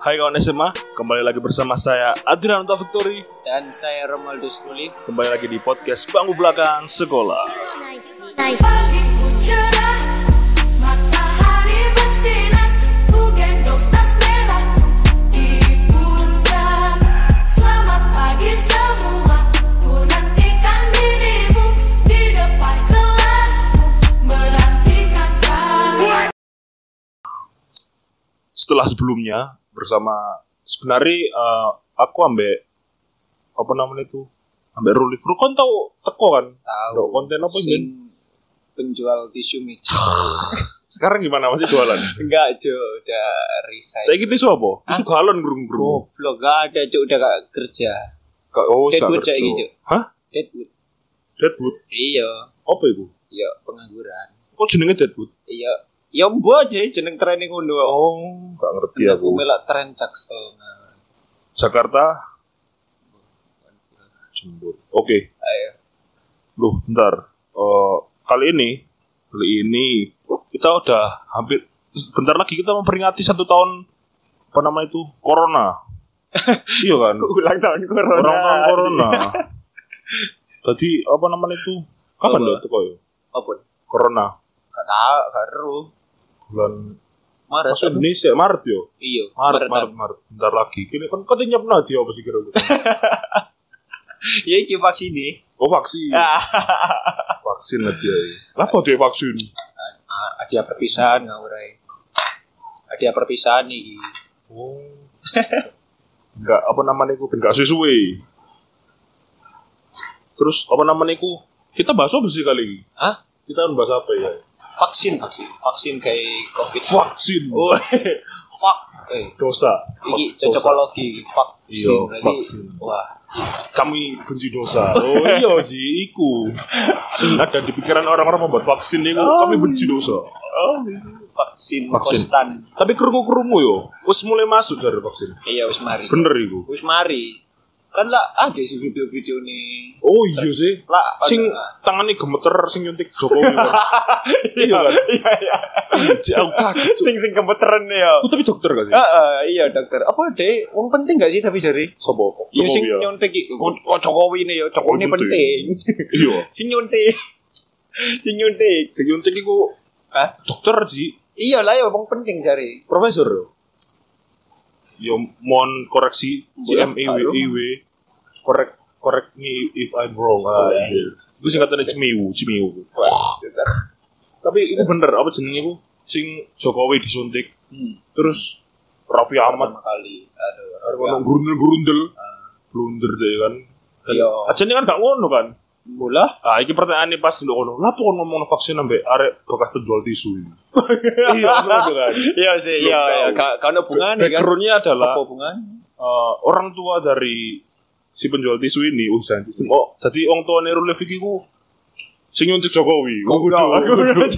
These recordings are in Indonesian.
Hai kawan SMA, kembali lagi bersama saya Adrian Victory dan saya Romualdo Skuli. Kembali lagi di podcast Bangku Belakang Sekolah. Pagi ku cerah, matahari bersinar, ku gendong tas merahku di pundak. Selamat pagi semua, ku nantikan dirimu di depan kelasku, menantikan kamu. Setelah sebelumnya bersama sebenarnya aku ambek apa namanya itu ambek Ruli Fru kon tau teko kan? Tahu. Konten apa sih? Penjual tisu meja. Sekarang gimana masih jualan? Enggak, Jo, udah resign. Saya gitu tisu apa? Tisu galon gerung-gerung. Goblok, gak ada, Jo, udah gak kerja. Oh, Deadwood kayak gitu. Hah? Deadwood? Iya. Apa itu? Iya, pengangguran. Kok jenenge Deadwood? Iya. Ya mbok aja jeneng training ngono. Oh, gak ngerti Aku aku. melak tren Jaksel. Jakarta Jembur. Oke. Ayo. Loh, bentar. Kali ini kita udah hampir bentar lagi kita memperingati 1 tahun apa nama itu corona. Iya kan? Ulang tahun corona. Ulang tahun corona. Tadi apa namanya itu? Kapan Apa? itu kok? Apa? Corona. Gak tahu, baru. Bulan Maret. Masuk Indonesia Maret yo. Iya. Maret. Bentar lagi. Kini kan katanya pernah dia apa sih kira-kira? Ya iki vaksin nih. Oh, vaksin. Vaksin aja. Apa dia vaksin? Ada perpisahan ngawurai. Ada perpisahan nih. Oh. Enggak apa namanya itu enggak sesuai. Terus apa namanya itu? Kita bahas apa sih kali ini? Hah? Kita bahas apa ya? Vaksin kayak COVID. Vaksin. Oh, fuck. Dosa. Iki Dosa. cocokologi. Vaksin. Iya, Berarti- vaksin. Wah. Kami benci dosa. Oh iya sih, iku. Sing ada di pikiran orang-orang membuat vaksin itu, kami benci dosa. Oh, vaksin. Vaksin. Konstan. Tapi kerungu yo, wis mulai masuk dari vaksin. Iya, wis mari. Bener iku. Wis mari. Kan lah ada sih video-video nih. Oh iya sih. Lah, Sing tangannya gemeter sing nyuntik Jokowi. Kan? Iya kan? Iya. Cik, aku kaget. Cuk. Sing gemeteran ya. Tapi dokter gak sih? Iya dokter. Apa deh? Wong penting gak sih tapi jari? Sopo? Iya sing ya? nyontek iki. Oh, Jokowi ini ya. Jokowi ini Oh, penting. Iya. Sing nyontek. Sing nyontek. Sing nyuntik iku Hah? dokter sih, Iya lah ya wong penting jari. profesor. Yo mohon koreksi CMIW. Correct me if I'm wrong. Iya. Itu singkatannya Cimiwu. Tapi itu bener apa jenenge iku? Sing Jokowi disuntik. Terus Raffi Ahmad Pertama kali. Aduh. ngomong grundel blunder deh kan. Iya. Ajane kan gak ngono kan. Bola. Ah, iki pertanyaane pas ndok ngono. Lah kok ngomong vaksin ambek arek bekas penjual tisu ini. Iya, ngono kan. Iya sih. Belum Iya. tahu. Gak ada hubungannya kan. Background-nya adalah Apa hubungan? orang tua dari si penjual tisu ini janji. Oh, dadi wong tuane Ruli Fiki ku sing nyuntik Jokowi. Kudu.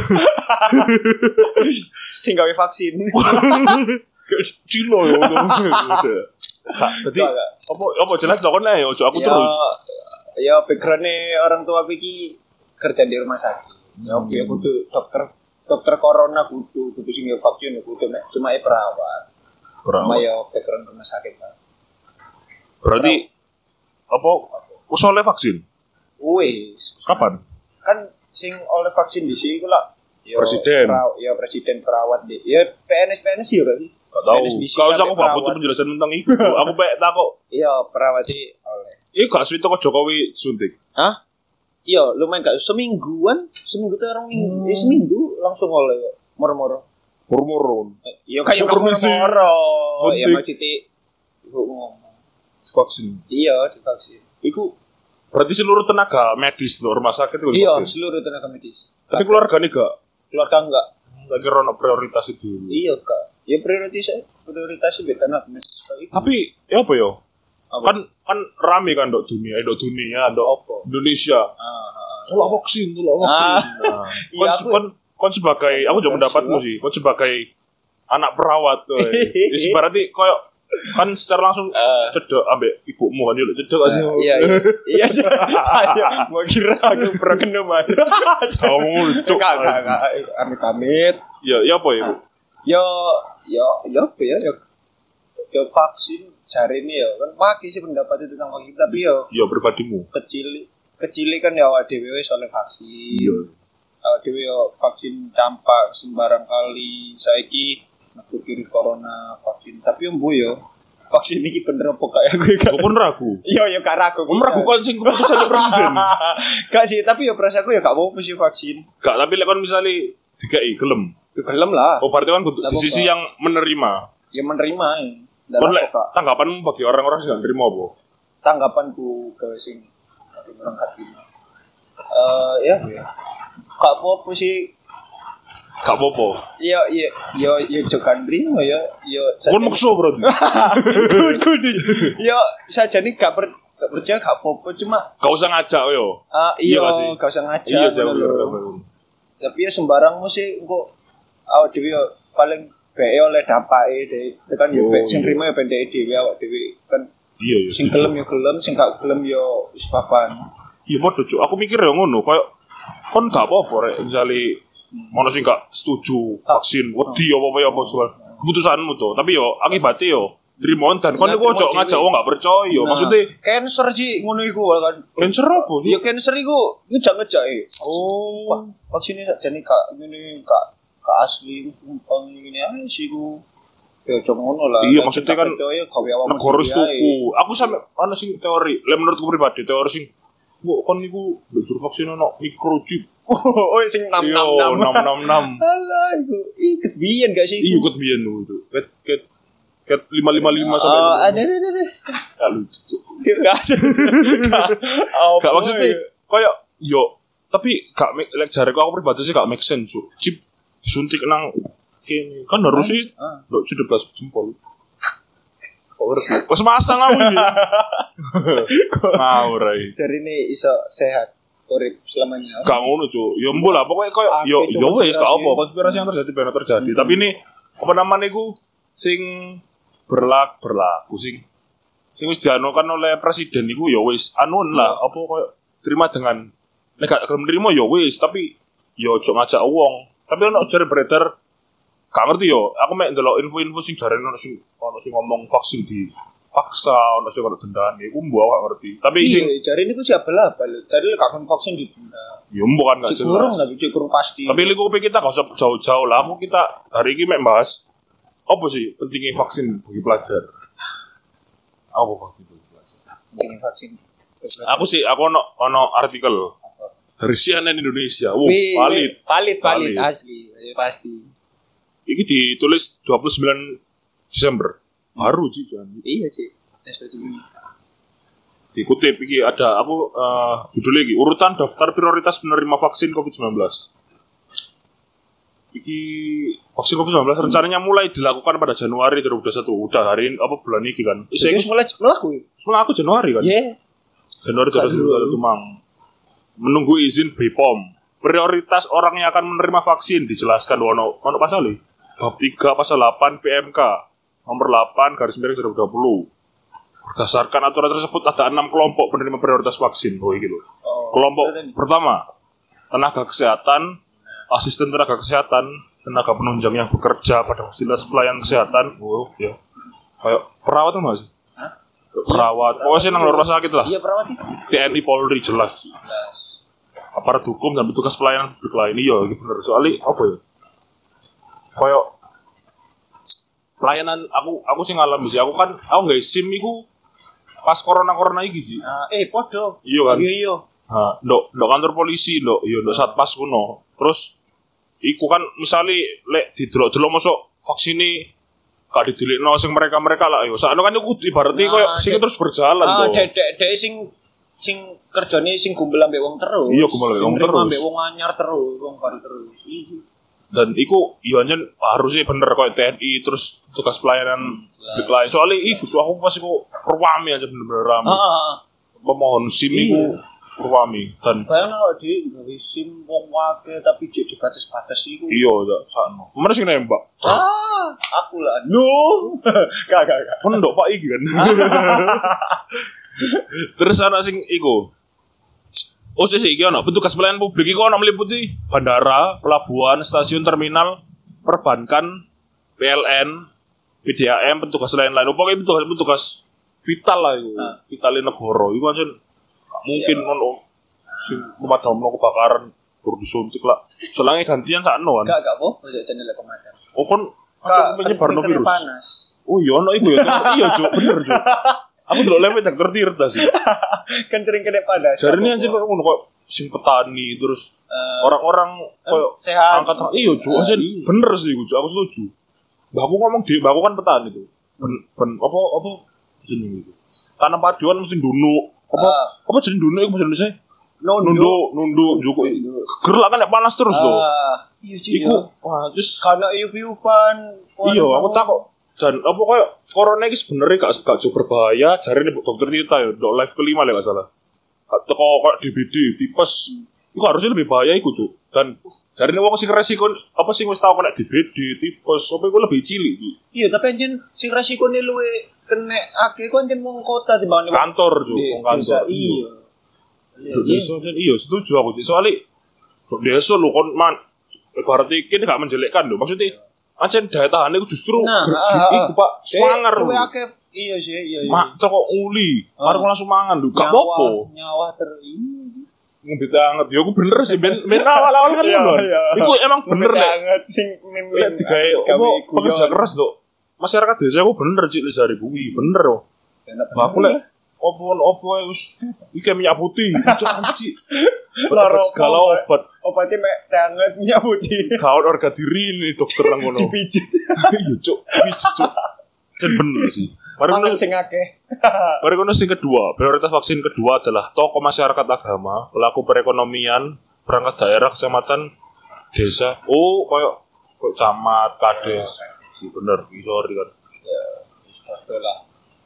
Sing gawe vaksin. Cilo yo. Dadi apa jelas dokon ae ojo aku terus. Ya background-nya orang tua Vicky kerja di rumah sakit. Ya kudu dokter corona kudu sing vaksin kudu cuma perawat. Cuma ya background rumah sakit kan. Berarti apa usoleh vaksin? Wis. Kapan? Kan sing oleh vaksin di sini lah Presiden. Presiden perawat deh. Ya PNS ya kan. Gak tahu. PNS bisi Kalau kan aku gak perawat. butuh penjelasan tentang itu. Aku pengen takut. Iya perawat sih oleh. Ini gak sulit kok Jokowi suntik. Hah? Iya lumayan gak seminggu tuh orang minggu. Seminggu langsung oleh moro-moro. Murmurun. Iya kayak Permisi. moro-moro. Ya Suntik. maksudnya ibu ngomong. Vaksin. Iya divaksin. Iku berarti seluruh tenaga medis loh rumah sakit itu. Iya vaksin. seluruh tenaga medis. Tapi keluarga nih gak. Keluarga enggak. Lagi rono prioritas itu. Iya kak. Ya prioritasnya beda nak. Tapi ya apa yo? Apa? Kan rame kan dok dunia, dok Apa? Indonesia. Tolak vaksin. Nah, Iya, kon sebagai aku juga pendapatmu sih. Kon sebagai anak perawat tuh. Berarti koyo kan secara langsung cedek ambek ibumu kan yo cedek gak sih? Iya saya mau kira aku pernah kena mah. Kamu itu Amit-amit. ya apa ya Bu? Yo apa ya? yo vaksin jari ini ya kan pagi sih pendapat itu tentang vaksin tapi yo Ya pribadimu. kecil kan ya awak dhewe wis oleh vaksin. Iya. Awak dhewe yo vaksin campak sembarang kali saiki metu virus corona vaksin tapi yo mbuh yo vaksin iki bener apa kayak gue gak. Aku pun ragu. Yo gak ragu. Meragukan sing keputusan presiden. Gak sih tapi yo perasaanku yo gak apa-apa sih vaksin. Gak, tapi lek kon misale dikai gelem. Gelem lah. Oh, berarti kan kudu di sisi yang menerima. Ya menerima ya. Kon lek tanggapanmu bagi orang-orang sing gak nerima apa? Tanggapanku ke sing orang hati. Ya. Gak apa-apa sih. Gak apa-apa. Ya jokan nerima ya. Kon maksa berarti. Kudu. Ya sajane gak percaya gak apa-apa cuma Gak usah ngajak yo. Iya gak sih? gak usah ngajak. Iya sih. Tapi ya sembarangmu sih engko awak dhewe yo paling bae oleh dampake tekan yo sing nerima yo pendeke dhewe awak dhewe kan. Iya. Sing gelem yo gelem, sing gak gelem yo wis papan. Iya padha cuk. Aku mikir yo ngono, koyo kon gak apa-apa rek misale ono sing gak setuju vaksin, wedi apa soal keputusanmu to. Tapi yo akibate yo trimo dan kon iku ojo ngajak wong gak percaya. Maksudnya cancer sih ngono iku kan. cancer apa? Ya cancer iku ngejak-ngejak Oh, vaksinnya sakjane gak ngene gak asli sumpah ngene ae sih iku. Ya ojo ngono lah. Iya maksudnya kan negara tuku. Aku sampe ana sing teori, lek menurutku pribadi teori sing kok kon niku belajar vaksin ono microchip. Oh sing 666. 666. Alah iku iket biyen gak sih? Iya ikut biyen itu. Ket 555 sampai. Ada. Gak lucu. Gak maksudnya kayak yo tapi gak lek jareku aku pribadi sih gak make sense. Chip disuntik nang kene kan harus sih ndok 17 jempol. Wes masang aku iki. Ngawur ae. Jarine iso sehat urip selamanya. Gak ngono, Cuk. Ya mbok lah pokoke koyo yo wis gak apa konspirasi yang terjadi benar terjadi. Tapi ini apa namanya iku sing berlaku sing wis dianukan oleh presiden iku ya wis anun lah apa koyo terima dengan nek gak gelem nerima ya wis tapi ya ojo ngajak wong. Tapi ono jare beredar gak ngerti yo, aku mek ndelok info-info sing jarene ono sing ngomong vaksin di paksa, ono sing ono dendane, iku mbok gak ngerti. Tapi sing jarene iku siapa lah, jarene gak kon vaksin didenda. Ya mbok kan gak jelas. Kurang tapi kurang pasti. Tapi liku kita gak usah jauh-jauh lah, kita hari ini mek bahas apa sih pentingnya vaksin bagi pelajar? Apa vaksin bagi pelajar? Pentingnya vaksin. Aku ono artikel dari CNN Indonesia. Valid asli, pasti. Ini ditulis 29 Desember. Baru sih kan. Iya sih. Dikutip iki ada aku judulnya iki urutan daftar prioritas penerima vaksin COVID-19. Iki vaksin COVID-19 rencananya mulai dilakukan pada Januari 2021. Udah hari ini apa bulan ini kan? Saya mulai melaku. Aku Januari kan? Iya. Januari 2021 mang. Menunggu izin BPOM. Prioritas orang yang akan menerima vaksin dijelaskan ono pasal iki. Bab 3 pasal 8 PMK nomor 8 garis miring 2020. Berdasarkan aturan tersebut ada 6 kelompok penerima prioritas vaksin. Oh iki lho. Kelompok pertama tenaga kesehatan, asisten tenaga kesehatan, tenaga penunjang yang bekerja pada fasilitas pelayanan kesehatan. Oh ya. Kayak perawat tuh Mas. Perawat. Pokoknya nang rumah sakit lah. Iya perawat. TNI Polri jelas. Aparat hukum dan petugas pelayanan publik lain. Iya, gitu bener. Soalnya apa ya? Kayak pelayanan aku sih ngalami sih. Aku nggak SIM iku pas corona iki sih. Podo. Iya kan? Iya. Ndok kantor polisi, ndok satpas kuno. Terus iku kan misale lek didelok-delok mosok vaksine gak didelikno sing mereka lah yo. Sakno kan iku ibaratnya koyo sing terus berjalan to. Dek sing kerjane sing gumbel ambek wong terus. Iya, gumbel ambek wong terus. Ambek wong anyar terus, wong baru terus. Dan iku iya anjen harusnya bener koyo TNI terus tugas pelayanan publik lain. Soalnya iku aku pas iku ruame aja bener-bener rame. Pemohon SIM iku ruame dan bayang awak dhewe gawe SIM wong wake tapi jek dibatas-batas iku. Iya, sakno. Mana sing nembak? Aku lah. No. Gak. Pendok Pak iki kan. Terus ana sing iku. Oh sih iki ana petugas pelayanan publik iku ana meliputi bandara, pelabuhan, stasiun terminal, perbankan, PLN, PDAM, petugas lain-lain. Pokoknya petugas vital lah itu. Vitalin negara. Iku aja mungkin ono sing pemadam kebakaran baru disuntik lah. Selangnya gantian sakno kan. Gak apa, ojo channel pemadam. Oh kan penyebar virus. Panas. Oh iya ono iku ya. Iya, Cuk, bener, Cuk. Aku delok live cek tertirta sih. Kan sering kena panas. Jarine anjir kok ngono kok sing petani terus orang-orang koyo sehat. angkat iya, Cuk. Aja bener sih, Cuk. Aku setuju. Mbakku ngomong mbakku kan petani tuh. Apa jenenge itu. Tanam paduan mesti ndunuk. Apa jenenge ndunuk iku bahasa Indonesia? Nunduk juku. Gerlak kan nek panas terus lho. Iya sih. Iku wah terus karena iup-iupan. Iya, aku takut. Dan apa koyo corona iki sebenarnya gak berbahaya, jarine dokter Tita ya, dok live kelima lah gak salah. Teko koyo DBD, tipes. Iku harusnya lebih bahaya iku, Cuk. Dan jarine wong sing resiko apa sing wis tau kena DBD, tipes, apa iku lebih cilik iki. Iya, tapi anjen sing resikone luwe kena akeh ku anjen wong kota timbang kantor, Cuk, wong kantor. Iya. Iya, setuju aku, Cuk. Soalnya desa lho kon berarti kene gak menjelekkan lho. Maksudnya ancen daya tahan itu justru iku Pak semangar lho. Iya sih, iya. Mak kok uli, arep langsung mangan lho. Gak apa-apa. Nyawa Ngombe anget. Ya aku bener sih ben awal-awal kan lho. Iku emang bener nek anget sing mimpi digawe apa pekerja keras lho. Masyarakat desa aku bener Cik Lizari kuwi, bener lho. Aku lek opo wis iki minyak putih, Cik. Segala obatnya mek anget minyak putih. Kawan orga diri ini dokter nang ngono. Dipijit. Iya, Cuk. Pijit, Cuk. Jan bener sih. Mangan sing akeh. Mari kono sing kedua, prioritas vaksin kedua adalah tokoh masyarakat agama, pelaku perekonomian, perangkat daerah, kecamatan, desa. Oh, koyo camat, kades. Si bener, sorry kan. Ya, betul lah.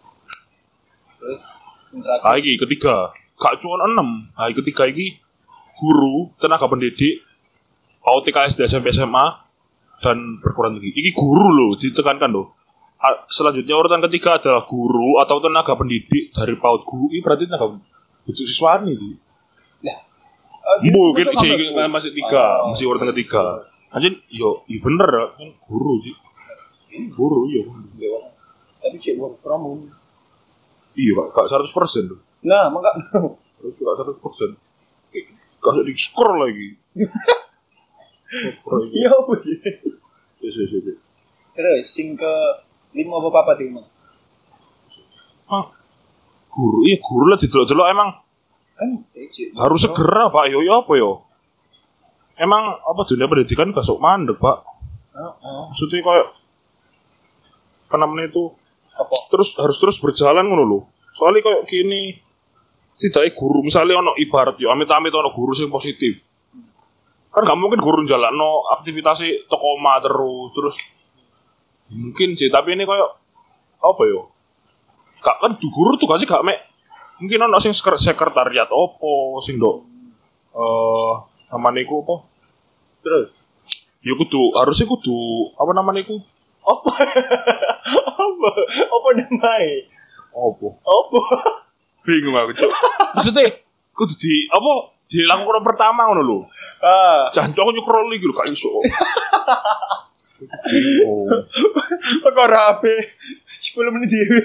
Terus iki ketiga, gak cuma 6. Ketiga iki guru, tenaga pendidik, PAUD TK SD SMP SMA dan perguruan tinggi. Iki guru loh, ditekankan loh. Selanjutnya urutan ketiga adalah guru atau tenaga pendidik dari PAUD guru. Ini berarti tenaga pendidik siswani sih. Nah, mungkin sih masih 3, masih urutan ketiga. Anjir, yo, bener kan guru sih. Guru iya. Tapi cek work from home. Iya, Pak, gak 100% loh. Nah, maka terus gak 100%. Gak di skor lagi. Iya, apa sih? Iya. Terus sing ke 5 apa tiga? Guru, iya guru lah didelok-delok emang kan harus segera Pak, yo apa yo? Emang apa dunia pendidikan gak sok mandek Pak? Maksudnya kayak namanya itu apa? Harus terus berjalan ngono lho. Soalnya kayak gini setidaknya guru misalnya ono ibarat yo amit-amit ono guru sing positif. Kan gak mungkin guru njalakno aktivitasnya toko omah terus mungkin sih, tapi ini kayak apa yo? Gak kan guru tuh kasih gak mek mungkin ono sing sekretariat opo sing do namanya iku apa? Terus ya harusnya kudu apa namanya iku? Apa namanya? Apa? Bingung aku, Cuk. Maksudnya kudu dilakukan pertama ngono lho. Jancok nyukrol iki lho gak iso. Perkara ape 10 menit dhewe.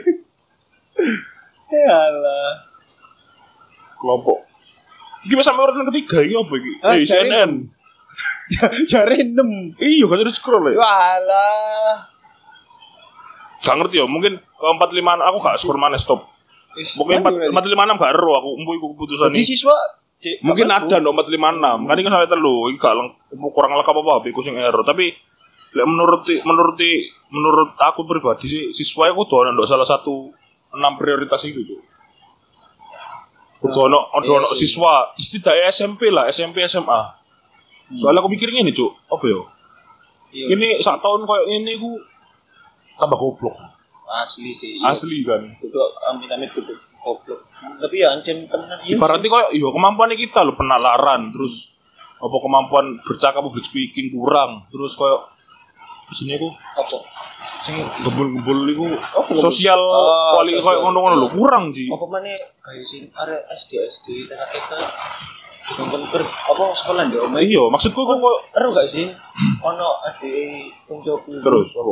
Yalah. Kelompok. Iki wis sampe urutan ketiga iki apa iki? CNN. Jare 6. Iya, kan terus scroll ya. Walah. Gak ngerti ya, mungkin ke 45 aku gak skor mana stop. Mungkin 456 gak ero aku iku keputusan iki. Di siswa mungkin ada no 456. Kan iki sampai telu, iki gak kurang lengkap apa iku sing error, tapi lek menurut aku pribadi sih siswa aku kudu ono salah satu 6 prioritas itu, Cuk. Kudu ono siswa setidaknya SMP lah, SMP SMA. Soalnya aku mikirnya ini, Cuk, apa ya? Ini sak tahun koyo ini ku tambah goblok. Asli sih. Asli kan. Kudu amit-amit kudu goblok. Tapi ya ancen tenan iya. Berarti koyo yo kemampuan kita lho penalaran, terus apa kemampuan bercakap public speaking kurang, terus koyo sini aku apa? Sing gembul-gembul iku sosial kuali koyo ngono-ngono lho kurang sih. Apa meneh gawe sing arek SD TK Ber apa sekolah ndek omah. Iya, maksudku kok ero gak sih? Ono ade koncoku. Terus apa?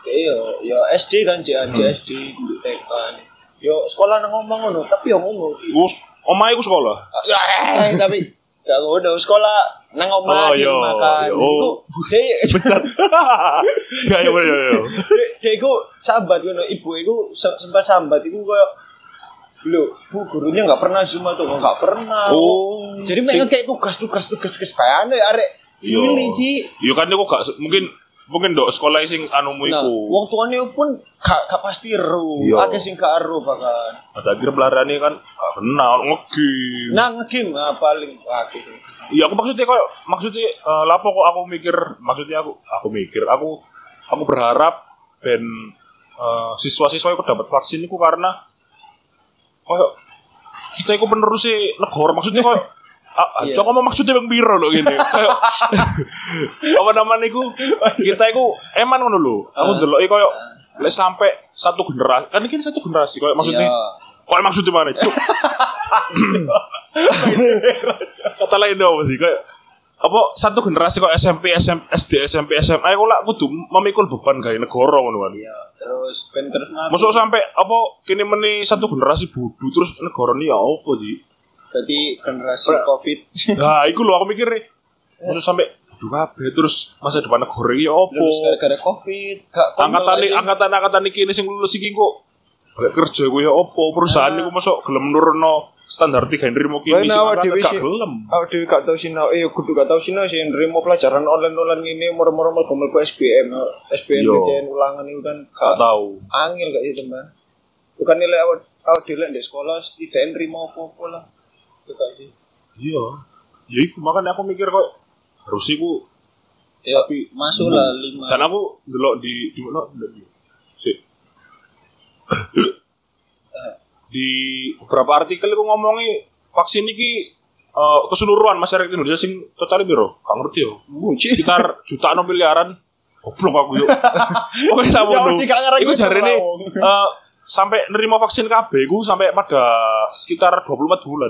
Yo SD kan SD untuk TK. Yo sekolah nang omah ngono, tapi yo ngono. Omahe ku sekolah. Tapi gak ngono, sekolah nang omah makan. Iku becat. Gak yo. Dek iku sambat ngono, ibu iku sempat sambat iku koyo lho, Bu gurunya enggak pernah Zoom atau enggak pernah. Oh. Jadi mereka kayak tugas kayane arek cilik, Ci. Yo kan aku gak mungkin ndok sekolah sing anumu iku. Nah, wong tuane pun gak pasti ero. Akeh sing gak ero bahkan. Ada akhir pelarane kan gak kenal ngegame. Nah, ngegame paling akeh. Iya, aku maksudnya lapo kok aku mikir, maksudnya aku berharap ben siswa-siswa iku dapat vaksin iku karena koyo kita iku penerus negara, maksudnya koyo coba ngomong maksudnya bang biro loh gini. Apa namanya iku? Kita iku eman ngono lho. Aku ndelok iku koyo lek sampai satu generasi. Kan iki satu generasi koyo maksudnya. Koyo maksudnya mana? Kata lain dong sih koyo apa satu generasi kok SMP, SD, SMP, SMA aku lah kudu memikul beban gawe negara ngono kan. Iya, terus ben terus masuk sampai apa kene meni satu generasi bodoh terus negara ini ya apa sih? Jadi generasi Covid. Nah, iku lho aku mikir masuk sampai bodoh kabeh terus masa depan negara iki ya apa? Terus gara-gara Covid, gak angkatan iki sing lulus iki kok gak kerja ku ya apa? Perusahaan iku masuk gelem nurunno standar 3 nrimo kini sing gak gelem. Awak dhewe gak tau sinau, kudu gak tau sinau sing nrimo pelajaran online ngene moro-moro mlebu SBM BTN ulangan itu kan gak tau. Angel gak itu, Mbak. Bukan nilai awak dhewe di sekolah tidak nrimo apa-apa lah. Iya. Ya iku makanya aku mikir kok harus iku tapi masuk lah 5. Dan aku delok di mana sih. Di beberapa artikel itu ngomongi vaksin ini keseluruhan masyarakat Indonesia sing total piro? Gak ngerti yo. Sekitar jutaan miliaran. Goblok aku yo. Oke sama lu. Iku jarene sampai nerima vaksin KB iku sampai pada sekitar 24 bulan.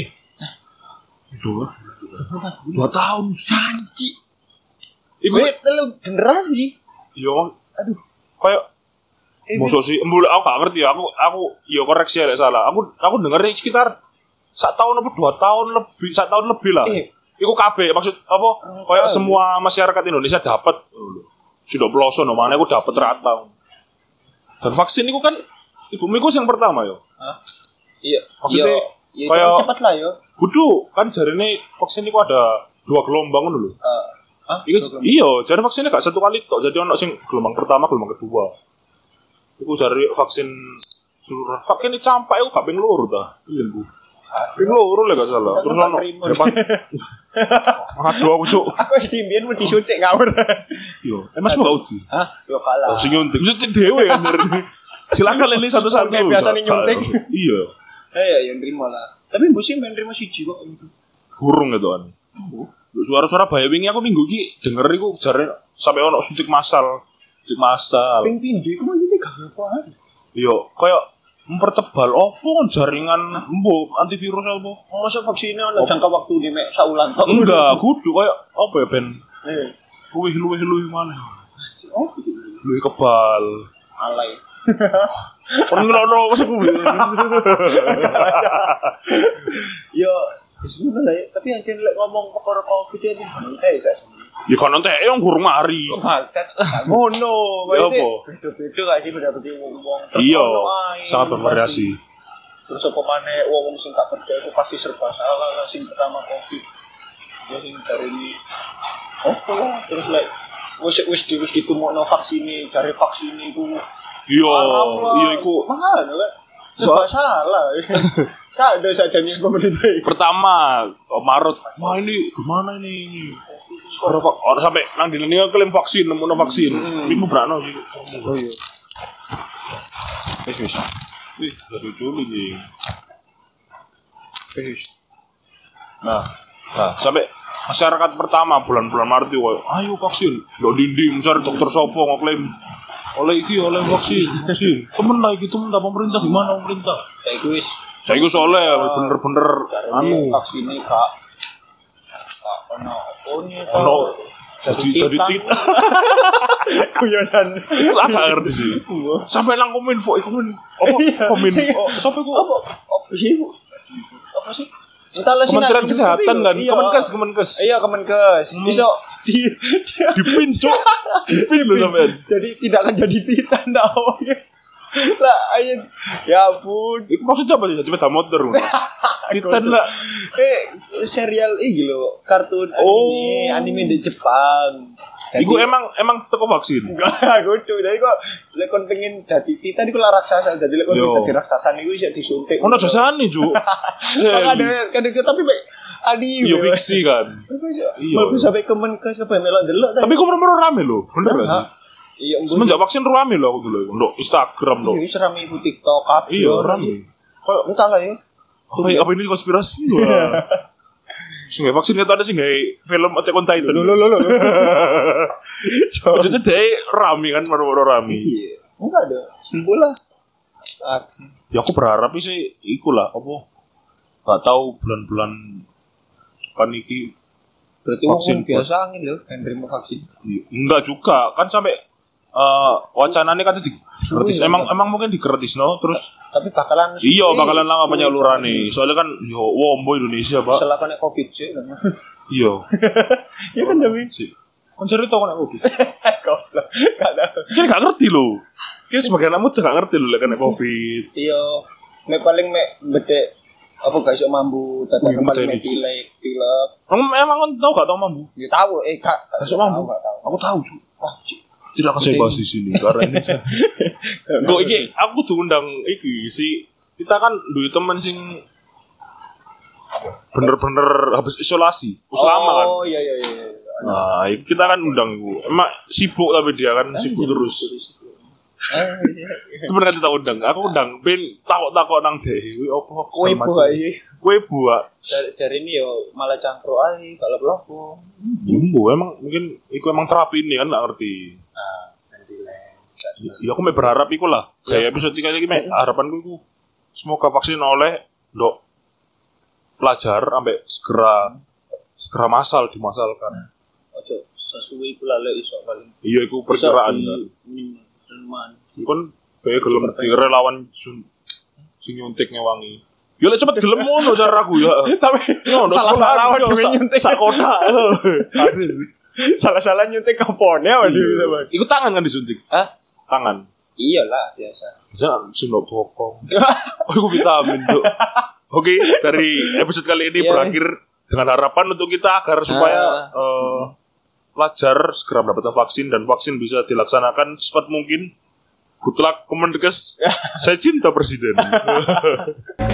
2 tahun janji. Iku telu generasi. Yo, aduh. Kayak musuh sih, aku gak ngerti ya. Aku yo koreksi ya salah. Aku dengernya sekitar 1 tahun atau 2 tahun lebih, 1 tahun lebih lah. Iku KB maksud apa? Kayak semua masyarakat Indonesia dapat. Sudah peloso no mana aku dapat rata. Dan vaksin itu kan ibumiku yang pertama yo. Iya. Maksudnya kayak cepat lah yo. Kudu kan jarine vaksin itu ada 2 gelombang ngono lho. Iya, jadi vaksinnya gak 1 kali tok. Jadi ono sing gelombang pertama, gelombang kedua. Iku cari vaksin seluruh vaksin ini campak aku gak ping loro ta. Iya, Bu. Ping loro lek gak salah. Terus ono depan. Aduh aku cuk. Aku wis dimbiyen mau disuntik ngawur. Yo, Mas mau uji. Hah? Yo kalah. Sing nyuntik dhewe kan. Silakan ini satu-satu. Biasane nyuntik. Iya. Ya nrimo lah. Tapi musim ben nrimo siji kok. Gurung gitu kan. Suara-suara bahaya wingi aku minggu iki denger iku jare sampai ono suntik massal. Ping pindho iku mah iki gak apa-apa. Yo, koyo mempertebal opo jaringan antivirus apa? Masa vaksinnya ana jangka waktu di mek saulan tok. Enggak, kudu koyo apa ya ben. Luwih mana? Oh, luwih kebal. Alay. Ono maksudku. Yo, sebenarnya ya, tapi yang lek ngomong perkara Covid ini saya. Ya kan nanti yang gurung mari. Maksud ngono, beda-beda gak sih beda wong. Iya, sangat bervariasi. Terus apa maneh wong sing gak percaya itu pasti serba salah lah sing pertama Covid. Ya sing cari ini lah terus lek wis ditumokno vaksin cari vaksin iku. Iya iku. Mahal kan. Serba salah. Sadar saja nih pemerintah. Pertama Maret, wah ini gimana ini? Orang sampai nang di dunia klaim vaksin, nemu vaksin. Ini berano sih. Oh iya. Wih, lucu nih. Nah, sampai masyarakat pertama bulan-bulan Maret itu, ayo vaksin. Do dinding, misalnya dokter sopo ngeklaim oleh vaksin. Temen lah gitu, pemerintah gimana pemerintah? Saya gue soalnya bener-bener vaksinnya kak ono Jadi tit. Guyonan. Aku gak ngerti sih. Sampai nang kominfo iku kominfo. Sopo iku? Apa sih? Apa sih? Entahlah sih. Kementerian Kesehatan kan. Iya. Kemenkes. Iya, Kemenkes. Bisa Dipin cuk. Dipin lho sampean. jadi tidak akan jadi titan awalnya. Lah ayo ya ampun. Iku maksudnya apa sih? Sepeda motor. Titan lah. Serial iki lho, kartun anime di Jepang. Iku emang teko vaksin. Enggak, kudu. Jadi kok lek kon pengen dadi titan iku lah raksasa. Jadi lek kon dadi raksasa niku iso disuntik. Ono jasane, Cuk. Kan tapi adi. Iya fiksi kan. Iya. Baru sampai Kemenkes sampai melok delok. Tapi kok bener-bener rame lho. Bener gak sih? Iya, semenjak vaksin rame loh aku dulu. Ndok Instagram loh. Iya, serami ibu TikTok kabeh. Iya, rame. Kayak entah lah ya. Apa ini konspirasi? Wah. Sing vaksin itu ada sih nggak film Attack on Titan. Lo. Jadi deh rame kan baru rame. Iya. Enggak ada. Simbol lah. Ya aku berharap sih ikulah apa. Gak tahu bulan-bulan depan iki berarti vaksin biasa angin loh yang terima vaksin. Enggak juga kan sampai wacananya kan gratis. Emang mungkin digratis no terus. Tapi bakalan. Iya bakalan lama penyalurannya. Soalnya kan yo wombo Indonesia pak. Setelah kena COVID sih. Iya. Iya kan demi. Kan cerita kena COVID. Goblok. Gak ada. Jadi gak ngerti loh. Kayak sebagian anak muda gak ngerti loh kena COVID. Iya. Paling bete apa guys yang mambu tata kembali pilek. Emang kan tahu gak tahu mambu? Ya tahu. Kak. Masuk mambu. Aku tahu cu. Tidak akan saya bahas di sini karena ini. Kok iki aku tuh undang iki sih. Kita kan duit temen sing bener-bener habis isolasi. Lama kan. Oh iya. Nah, kita kan undang ibu. Emak sibuk tapi dia kan sibuk terus. Temen kan kita undang. Aku undang ben takok-takok nang deh. Apa kue buah. Cari ini yo malah cangkruk ae kalau peloko. Bumbu emang mungkin iku emang terapi ini kan gak ngerti. Ya aku mau berharap iku lah. Kayak episode 3 iki harapanku iku semoga vaksin oleh ndok pelajar sampai segera massal dimasalkan. Ojo sesuai pula lek iso paling. Iya iku perkiraan kan. Kon kayak gelem di relawan sing nyuntik ngewangi. Ya lek cepet gelem ngono cara aku ya. Tapi salah-salah dhewe nyuntik sak kota. Salah-salah nyuntik kapone waduh bisa banget. Iku tangan kan disuntik. Hah? Tangan. Iyalah biasa. Jangan sinok bokong. Oh iku vitamin tuh. Oke, dari episode kali ini berakhir dengan harapan untuk kita agar supaya pelajar segera mendapatkan vaksin dan vaksin bisa dilaksanakan secepat mungkin. Good luck Kemenkes. Saya cinta Presiden.